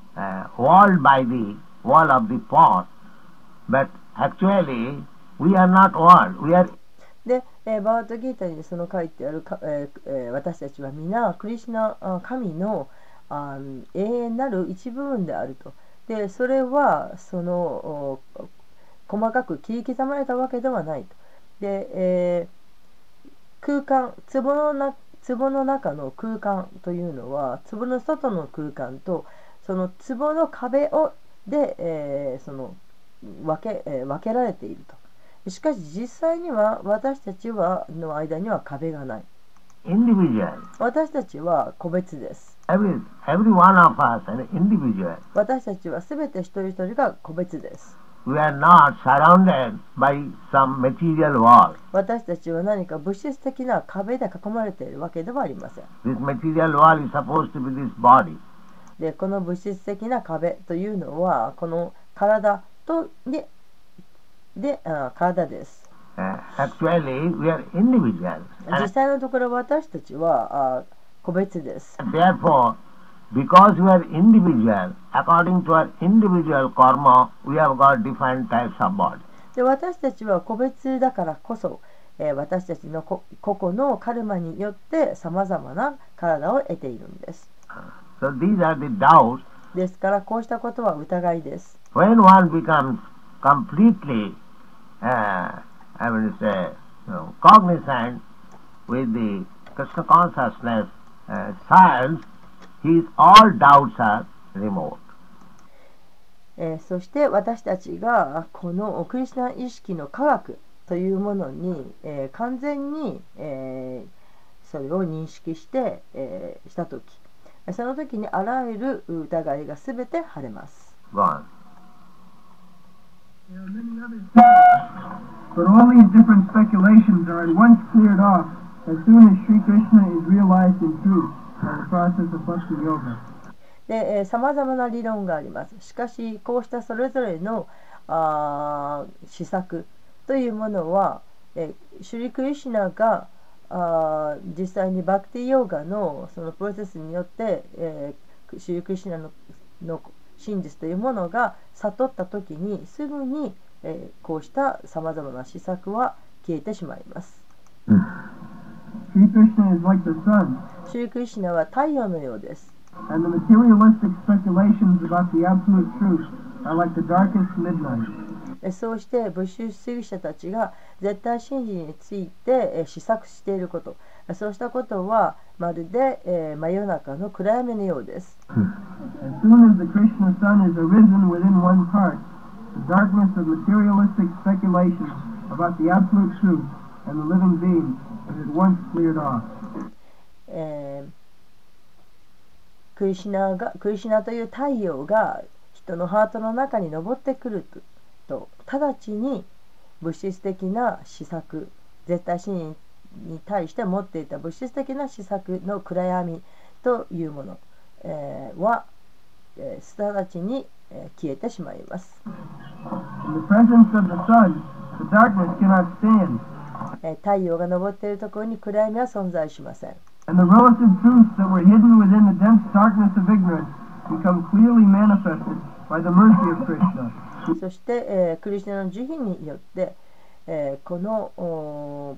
uh, walled by the wall of the pot, but actually we are not walled. We are で、えーバートギータにその書いてあるか、えーえー私たちは皆クリシュナあ神のあー永遠なる一部分であると。でそれはそのお細かく切り刻まれたわけではないと。で、えー空間、壺のな壺の中の空間というのは壺の外の空間とその壺の壁をで、えーその分け、えー分けられていると。しかし実際には私たちはの間には壁がない。 individual. 私たちは個別です。 Every, every one of us an individual. 私たちはすべて一人一人が個別です。 We are not surrounded by some material wall. 私たちは何か物質的な壁で囲まれているわけではありません。 This material wall is supposed to be this body. で、この物質的な壁というのはこの体とで、であ体です。 Uh, actually, we are individual. 実 And 際のところ私たちはあ個別です。 therefore, because we are individual, according to our individual karma, we have got different types of body. で私たちは個別だからこそ、えー私たちのこ個々のカルマによってさまざまな体を得ているんです。 So these are the doubts. ですからこうしたことは疑いです。 When one becomes completely, uh, I will say, you know, cognizant with the Krishna consciousness uh, science, his all doubts are removed. えーそして私たちがこのクリシュナ意識の科学というものに、えー完全に、えーそれを認識して、えーしたとき、その時にあらゆる疑いがすべて晴れます。 Gone. There are many others, but all these different speculations are at once cleared off as soon as Sri Krishna is realized in truth by the process of Bhakti Yoga. で、さまざまな理論があります。しかしこうしたそれぞれのあー施策というものは、えーシュリクリシュナがあー実際にバクティヨーガのそのプロセスによって、えーシュリクリシュナのの真実というものが悟った時にすぐに、えーこうしたさまざまな施策は消えてしまいます。 Sri Krishna is like the sun, シュリクリシュナは太陽のようです。 and the materialistic speculations about the absolute truth are like the darkest midnight. えそうして物質主義者たちが絶対真理についてえ施策していること、そうしたことはまるでえ真夜中の暗闇のようです。 As soon as the Krishna sun is arisen within one part, the darkness of materialistic speculations about the absolute truth and the living being is at once cleared off. えークリシュナがクリシュナという太陽が人のハートの中に昇ってくると直ちに物質的な施策、絶対真理に対して持っていた物質的な施策の暗闇というもの、えーは、えー、直ちに、えー消えてしまいます。 In the presence of the sun, the darkness cannot stand, えー太陽が昇っているところに暗闇は存在しません。 and the relative truths that were hidden within the dense darkness of ignorance become clearly manifested by the mercy of Krishna. そして、えークリシュナの慈悲によって、えーこのお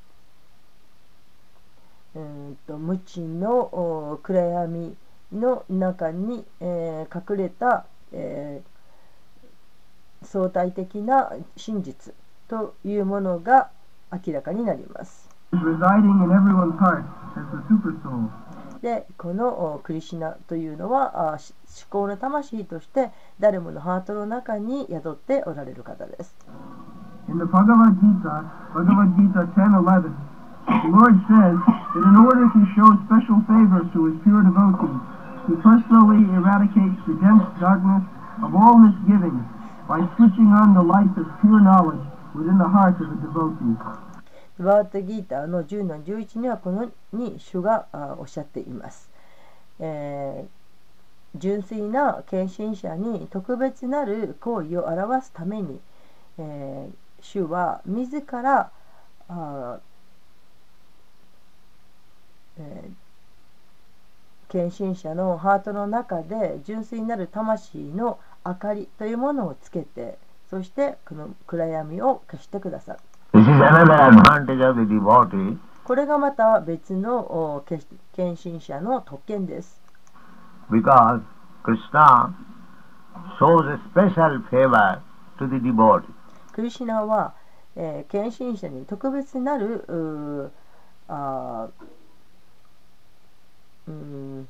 ーうーんと無知のおー暗闇の中に、えー隠れた、えー相対的な真実というものが明らかになります。 is residing in everyone's heart as the super soul. で、このおクリシュナというのはあし思考の魂として誰ものハートの中に宿っておられる方です。 In the Bhagavad Gita, Bhagavad Gita ten eleven, the Lord says that in order to show special favor to his pure devotees, he personally eradicates the dense darkness of all misgivings by switching on the light of pure knowledge within the heart of the devotee. バートギーターのじゅうのじゅういちにはこのように主があおっしゃっています。えー純粋な献身者に特別なる行為を表すために、えー主は自らあ、えー献身者のハートの中で純粋なる魂の明かりというものをつけて、そしてこの暗闇を消してくださる。 This is another advantage of the devotee. これがまた別の献身者の特権です。 Because Krishna shows a special favor to the devotee. クリシュナは、えー、献身者に特別なるうあうん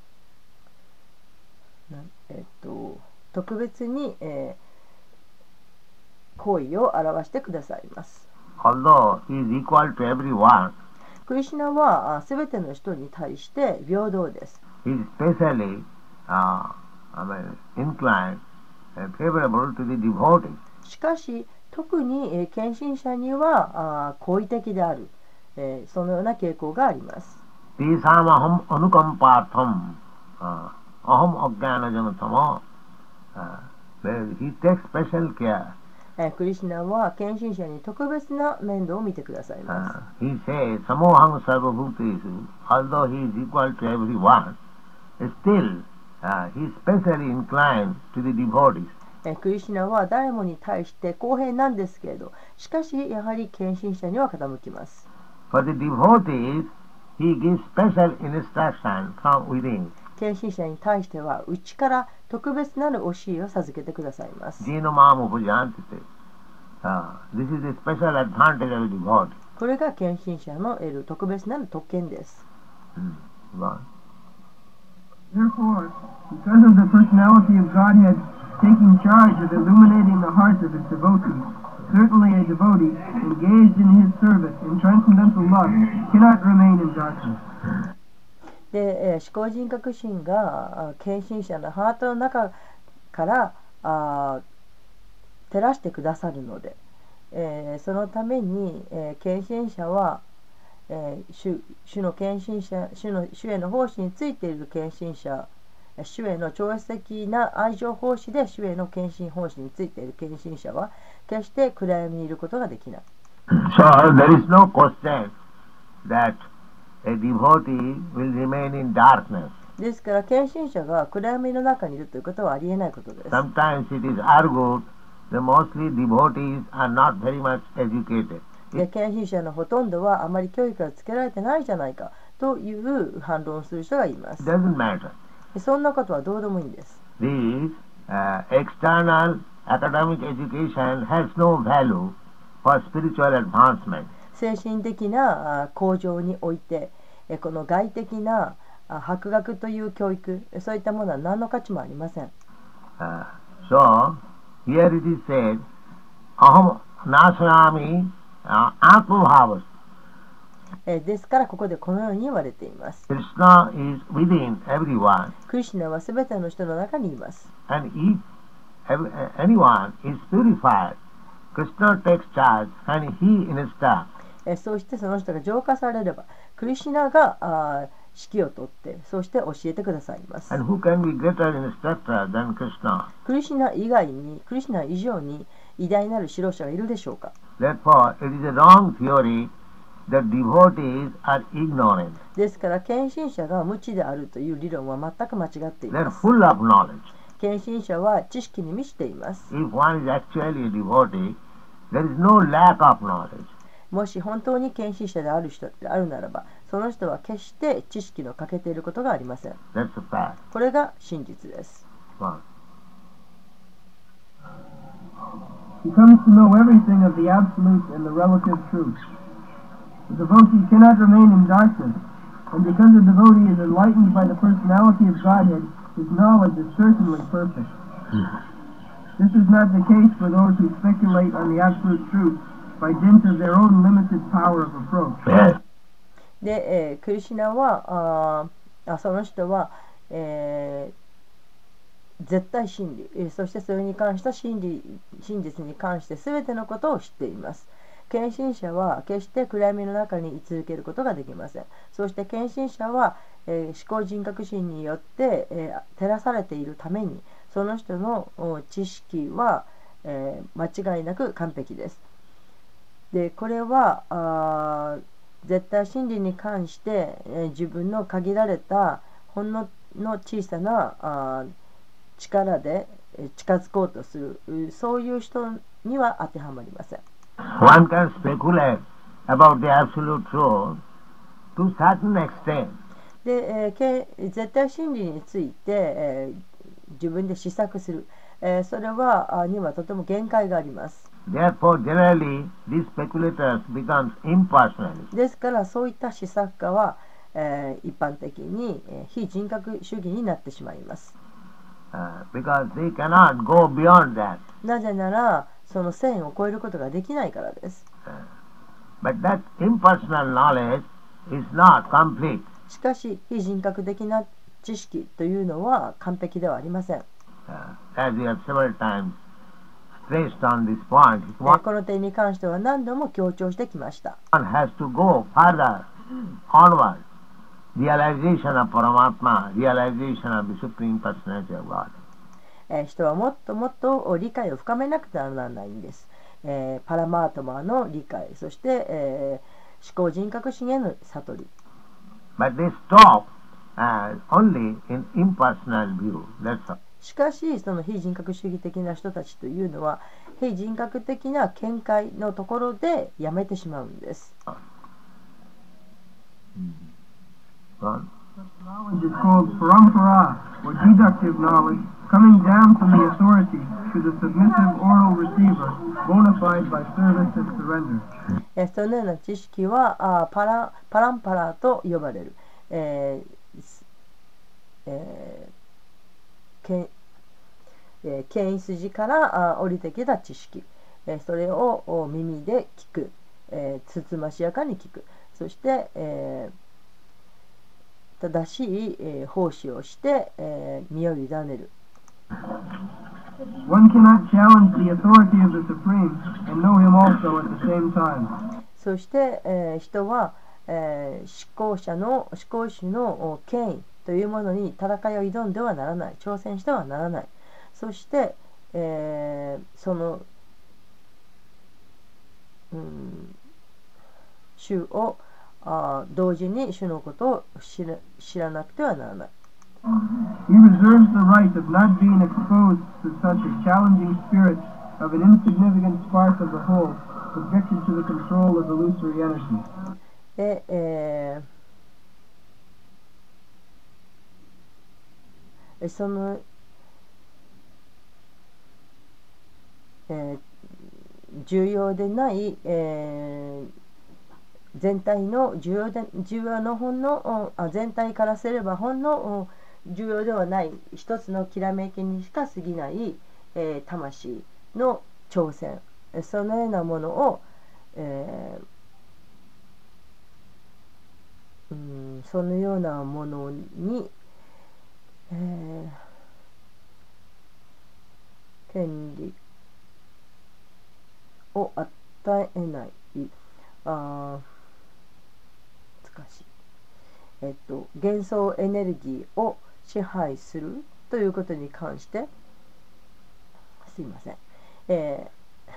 なえっと特別に、えー、行為を表してくださいます。 Although he is equal to everyone, クリシュナはすべての人に対して平等です。 he is specially uh, I mean, inclined and favorable to the devotee. しかし特に、えー、献身者にはあ好意的である、えー、そのような傾向があります。 Tisam aham anukampatham aham ajnanajanatama. He takes special care. えー、クリシュナは献身者に特別な面倒を見てくださいます。 Uh, he says, Samoham sarvabhutesu, although he is equal to everyone, still uh, he is specially inclined to the devotees. えー、クリシュナは誰もに対して公平なんですけれど、しかしやはり献身者には傾きます。 For the devotees, he gives special instruction from within. 献身者に対しては内から特別なる教えを授けてくださいます。 Jino mam upajantite. Uh, this is a special advantage of the devotee. これが献身者の得る特別なる特権です。 Hmm. Go on. Therefore, because of the personality of Godhead taking charge of illuminating the hearts of its devotees, certainly a devotee engaged in his service in transcendental love cannot remain in darkness. で、思考人格心が献身者のハートの中からあ照らしてくださるので、えー、そのために、えー、献身者は、えー、主, 主の献身者主の主への奉仕についている献身者、主への超越的な愛情奉仕で主への献身奉仕についている献身者は決して暗闇にいることができない。 So there is no question that a devotee will remain in darkness. ですから献身者が暗闇の中にいるということはありえないことです。 Sometimes it is argued that mostly devotees are not very much educated. で献身者のほとんどはあまり教育がつけられてないじゃないかという反論をする人がいます。 It doesn't matter. そんなことはどうでもいいんです。 This uh, external academic education has no value for spiritual advancement. 精神的な向上において、この外的な博学という教育、そういったものは何の価値もありません。 Uh, so, here it is said, Aham nasayami atmabhavas. ですからここでこのように言われています。 Krishna is within everyone. クリシュナはすべての人の中にいます。 And if every, anyone is purified, Krishna takes charge and he instructs. そうしてその人が浄化されれば、クリシュナがあ指揮を取って、そして教えてくださいます。 And who can be greater instructor than Krishna? クリシュナ以外に、クリシュナ以上に偉大なる指導者がいるでしょうか。 Therefore, it is a wrong theory that devotees are ignorant. ですから、献身者が無知であるという理論は全く間違ってい They are ます。 full of knowledge. 献身者は知識に満ちています。 If one is actually a devotee, there is no lack of knowledge. もし本当に献身者である人であるならば、その人は決して知識の欠けていることがありません。 That's a fact. これが真実です。 One. He comes to know everything of the absolute and the relative truth. The devotee cannot remain in darkness, and because the devotee is enlightened by the personality of Godhead, his knowledge is certainly perfect. This is not the case for those who speculate on the absolute truth by dint of their own limited power of approach. Yes. で、えー、クリシュナはああその人は、えー、絶対真理、えー、そしてそれに関した真理真実に関して全てのことを知っています。献身者は決して暗闇の中に居続けることができません。そして献身者は、えー、思考人格心によって、えー、照らされているために、その人の知識は、えー、間違いなく完璧です。で、これはあ絶対真理に関して、えー、自分の限られたほんのの小さなあ力で近づこうとする、そういう人には当てはまりません。 One can speculate about the absolute truth to a certain extent. で、えーけ絶対真理について、えー自分で試作する、えーそれはあにはとても限界があります。 Therefore, generally, these speculators become impersonalists. ですからそういった試作家は、えー一般的に、えー非人格主義になってしまいます。 Uh, because they cannot go beyond that. なぜならその線を越えることができないからです。 But that impersonal knowledge is not complete. しかし非人格的な知識というのは完璧ではありません。 Uh, as we have several times stressed on this point, えーこの点に関しては何度も強調してきました。 one has to go further onward. Realization of Paramatma, realization of the Supreme Personality of God. えー人はもっともっと理解を深めなくてはならないんです。えーパラマートマの理解、そして、えー思考人格心への悟り。 But they stop uh, only in impersonal view. That's all. しかしその非人格主義的な人たちというのは非人格的な見解のところでやめてしまうんです。 Gone. Such knowledge is called parampara, or deductive knowledge, coming down from the authority to the submissive oral receiver, bona fide by service and surrender. えーそのような知識はあーパラパランパラと呼ばれる、えーすえーけんえー権威筋からあ降りてきた知識、えーそれをお耳で聞く、えーつつましやかに聞く、そして、えー正しい、えー奉仕をして、えー身を委ねる。 One cannot challenge the authority of the Supreme and know him also at the same time. そして、えー人は、えー思考者の思考主のお権威というものに戦いを挑んではならない、挑戦してはならない。そして、えーその、うん、主をあ同時に主のことを知ら、知らなくてはならない。 He reserves the right of not being exposed to such a challenging spirit of an insignificant spark of the whole, subjected to the control of illusory energy. で、えーその、えー重要でない、えー全体の重要で重要のほんのあ全体からすればほんの重要ではない一つのきらめきにしか過ぎない、えー魂の挑戦、そのようなものを、えーうん、そのようなものに、えー権利を与えない。あ難しい、えっと、幻想エネルギーを支配するということに関してすいません、え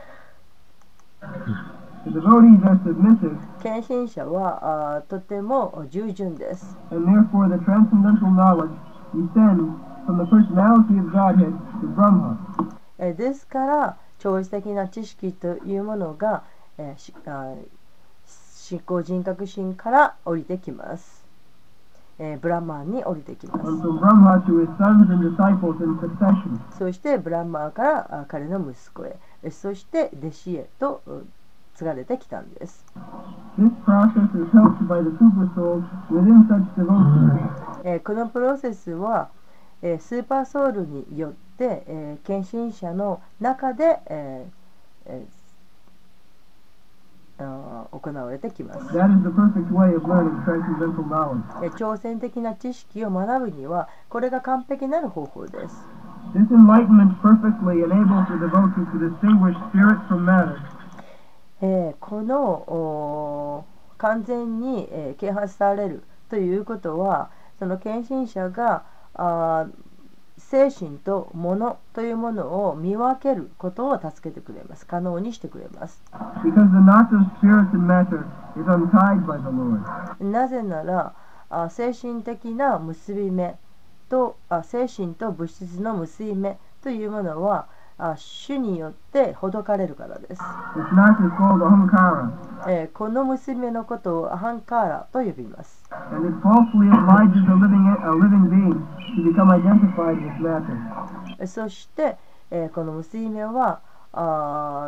ー、 The devotees are submissive, 献身者はあとても従順です。 and therefore the transcendental knowledge descends from the personality of Godhead to Brahma. えーですから超越的な知識というものが、えーしあ思考人格心から降りてきます。えーブランマーに降りてきます。 And from Brahma to his sons and disciples in succession. そしてブランマーからあ彼の息子へ、えそして弟子へとう継がれてきたんです。 This process is helped by the supersouls within such devotees. えーこのプロセスは、えースーパーソウルによって、えー献身者の中で、えーえーあー行われてきます。 That is the perfect way of learning transcendental knowledge. えー挑戦的な知識を学ぶにはこれが完璧なる方法です。 This enlightenment perfectly enables the devotee to distinguish spirit from matter. えーこのおー完全に、えー啓発されるということはその献身者があー精神と物というものを見分けることを助けてくれます。可能にしてくれます。 Because the knot of spirit and matter is untied by the Lord. なぜならあ精神的な結び目とあ精神と物質の結び目というものはあ主によってほどかれるからです。 This master is called ahankara, えーこの結び目のことをアハンカーラと呼びます。 and it falsely obliges a living, a living being to become identified with matter. えーそして、えーこの結び目はあ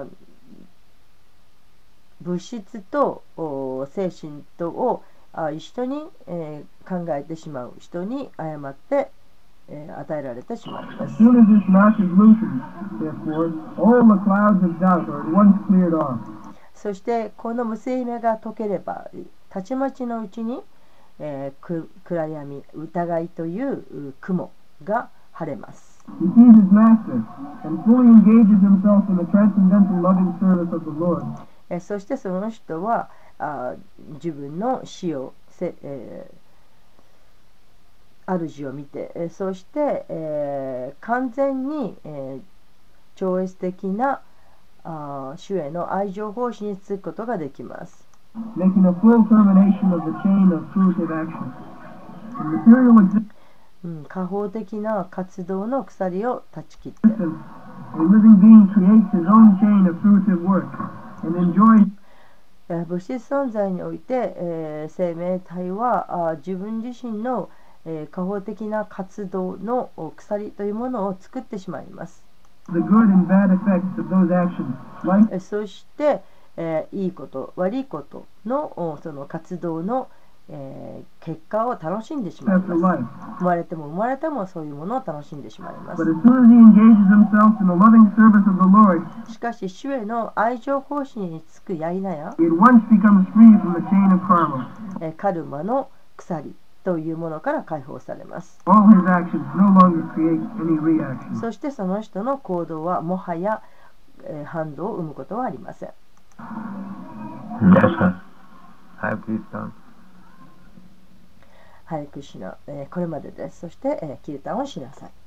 物質とお精神とをあ一緒に、えー考えてしまう人に誤って、えー与えられてしまいま As す。 soon as this master is loosened, therefore, all the clouds of doubt are at once cleared off. そしてこの結び目が解ければたちまちのうちに、えーく暗闇疑いというう雲が晴れます。 He sees his master and fully engages himself in the transcendental loving service of the Lord. えーそしてその人はあ自分の死をせ、えー主を見て、えーそして、えー完全に、えー超越的なあ主への愛情奉仕につくことができます。 making a full termination of the chain of fruitive action. The material existence うん、過方的な活動の鎖を断ち切って、 of a living being creates his own chain of fruitive work and enjoys えー物質存在において、えー生命体はあ自分自身の、えー過方的な活動のお鎖というものを作ってしまいます。 the good and bad effects of those actions. Like えーそして、えーいいこと悪いことのおその活動の、えー結果を楽しんでしまい after ます。 life. 生まれても生まれてもそういうものを楽しんでしまいま But す。 as soon as he engages himself in the loving service of the Lord, しかし主への愛情奉仕につくやいなや、 he at once becomes free from the chain of karma. えーカルマの鎖というものから解放されます。 All his actions no longer create any reaction. そしてその人の行動はもはや、えー反動を生むことはありません。 Yes, sir. Have peace done. ハレクシナ、えーこれまでです。そして、えーキルタンをしなさい。